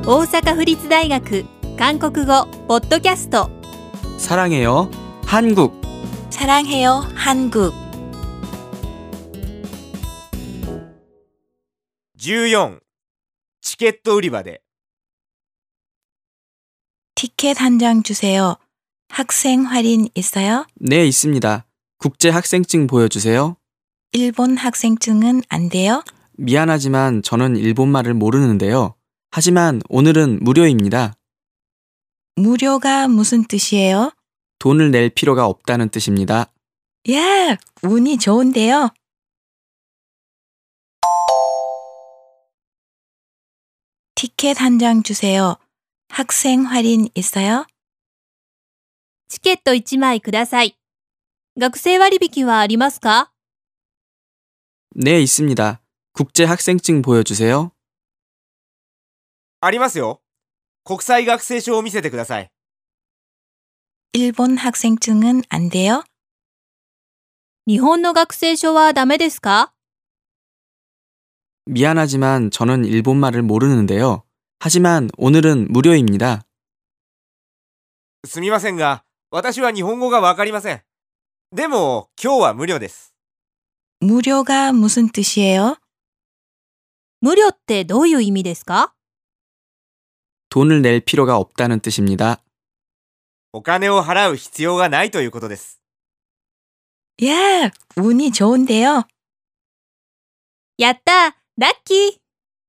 大阪府立大学韓国語ポッドキャスト 사랑해요 한국 사랑해요 한국 14. チケット売り場で 티켓 한 장 주세요. 학생 할인 있어요? 네, 있습니다. 국제 학생증 보여주세요. 일본 학생증은 안 돼요? 미안하지만 저는 일본말을 모르는데요. 하지만 오늘은 무료입니다. 무료가 무슨 뜻이에요? 돈을 낼 필요가 없다는 뜻입니다. 야, 운이 좋은데요. 티켓 한 장 주세요. 학생 할인 있어요? チケット1枚ください。学生割引はありますか？ 네, 있습니다. 국제 학생증 보여주세요. ありますよ。国際学生証を見せてください。 일본 학생증은 안 돼요? 日本の学生証はダメですか？ 미안하지만 저는 일본말을 모르는데요. 하지만 오늘은 무료입니다. すみませんが、私は日本語がわかりません。でも、今日は無料です。 무료가 무슨 뜻이에요? 無料ってどういう意味ですか？ 돈을 낼 필요가 없다는 뜻입니다. お金を払う必要がないということです。 야, 운이 좋은데요. やったー、ラッキー。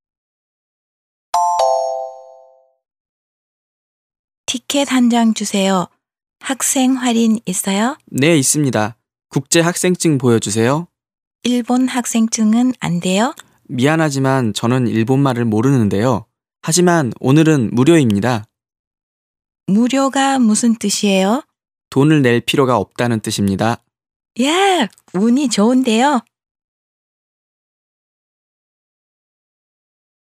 티켓 한 장 주세요. 학생 할인 있어요? 네, 있습니다. 국제 학생증 보여주세요. 일본 학생증은 안 돼요? 미안하지만 저는 일본말을 모르는데요. 하지만 오늘은 무료입니다. 무료가 무슨 뜻이에요? 돈을 낼 필요가 없다는 뜻입니다. 야, 운이 좋은데요.